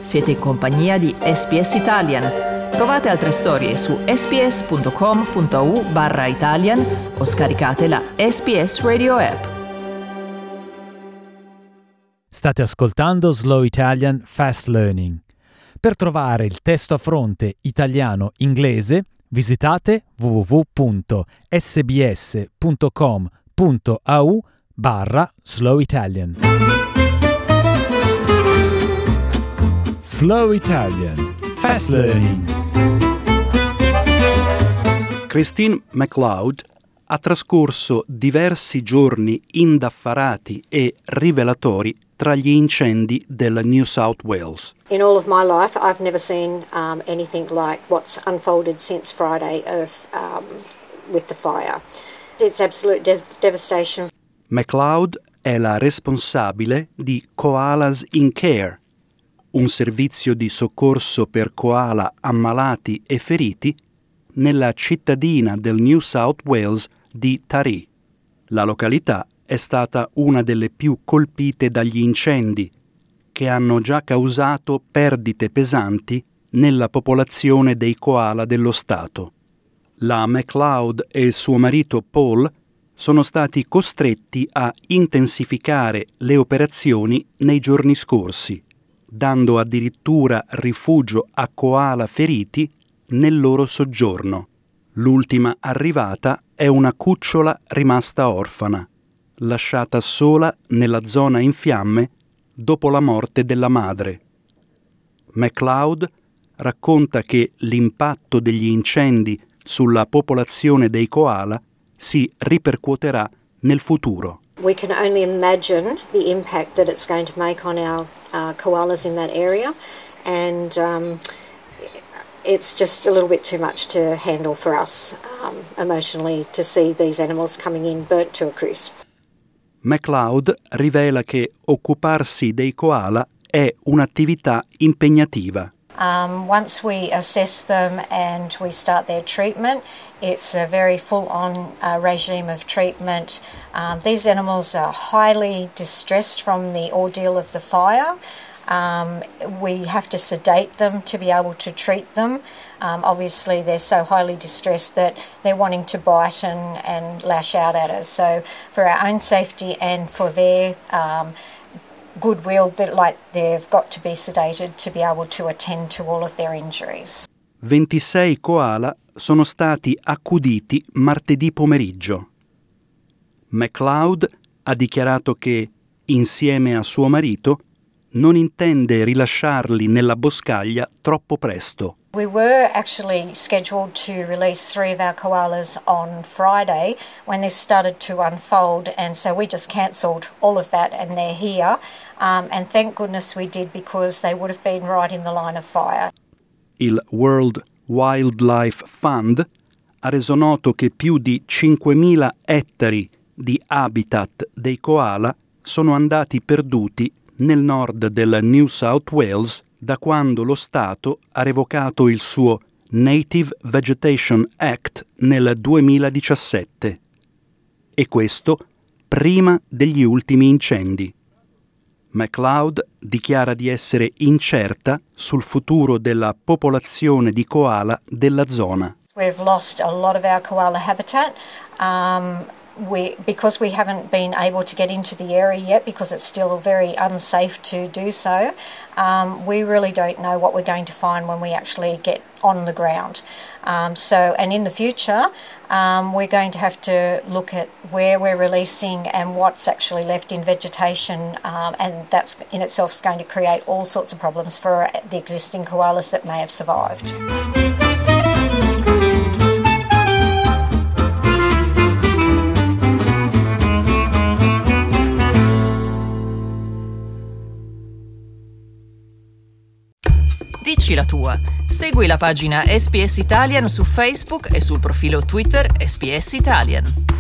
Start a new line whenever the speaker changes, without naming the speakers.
Siete in compagnia di SPS Italian. Trovate altre storie su sps.com.au/Italian o scaricate la SPS Radio app.
State ascoltando Slow Italian Fast Learning. Per trovare il testo a fronte italiano-inglese, visitate www.sbs.com.au/Slow Italian. Slow Italian Fast Learning.
Christine McLeod ha trascorso diversi giorni indaffarati e rivelatori tra gli incendi del New South Wales.
In all of my life, I've never seen anything like what's unfolded since Friday with the fire. It's absolute devastation.
McLeod è la responsabile di Koalas in Care, un servizio di soccorso per koala ammalati e feriti nella cittadina del New South Wales di Taree. La località è stata una delle più colpite dagli incendi, che hanno già causato perdite pesanti nella popolazione dei koala dello Stato. La McLeod e suo marito Paul sono stati costretti a intensificare le operazioni nei giorni scorsi, dando addirittura rifugio a koala feriti nel loro soggiorno. L'ultima arrivata è una cucciola rimasta orfana, lasciata sola nella zona in fiamme dopo la morte della madre. McLeod racconta che l'impatto degli incendi sulla popolazione dei koala si ripercuoterà nel futuro.
We can only imagine the impact that it's going to make on our koalas in that area, and it's just a little bit too much to handle for us emotionally to see these animals coming in burnt to a crisp.
McLeod rivela che occuparsi dei koala è un'attività impegnativa.
Once we assess them and we start their treatment, it's a very full-on regime of treatment. These animals are highly distressed from the ordeal of the fire. We have to sedate them to be able to treat them. Obviously, they're so highly distressed that they're wanting to bite and lash out at us. So for our own safety and for their goodwill, they've got to be sedated to be able to attend to all of their injuries.
26 koala sono stati accuditi martedì pomeriggio. McLeod ha dichiarato che, insieme a suo marito, non intende rilasciarli nella boscaglia troppo presto.
We were actually scheduled to release 3 of our koalas on Friday when this started to unfold, and so we just cancelled all of that and they're here. And thank goodness we did, because they would have been right in the line of fire.
Il World Wildlife Fund ha reso noto che più di 5.000 ettari di habitat dei koala sono andati perduti nel nord del New South Wales da quando lo Stato ha revocato il suo Native Vegetation Act nel 2017. E questo prima degli ultimi incendi. McLeod dichiara di essere incerta sul futuro della popolazione di koala della zona.
We've lost a lot of our koala habitat. Because we haven't been able to get into the area yet, because it's still very unsafe to do so, we really don't know what we're going to find when we actually get on the ground. And in the future, we're going to have to look at where we're releasing and what's actually left in vegetation, and that's in itself is going to create all sorts of problems for the existing koalas that may have survived.
Dici la tua. Segui la pagina SPS Italian su Facebook e sul profilo Twitter SPS Italian.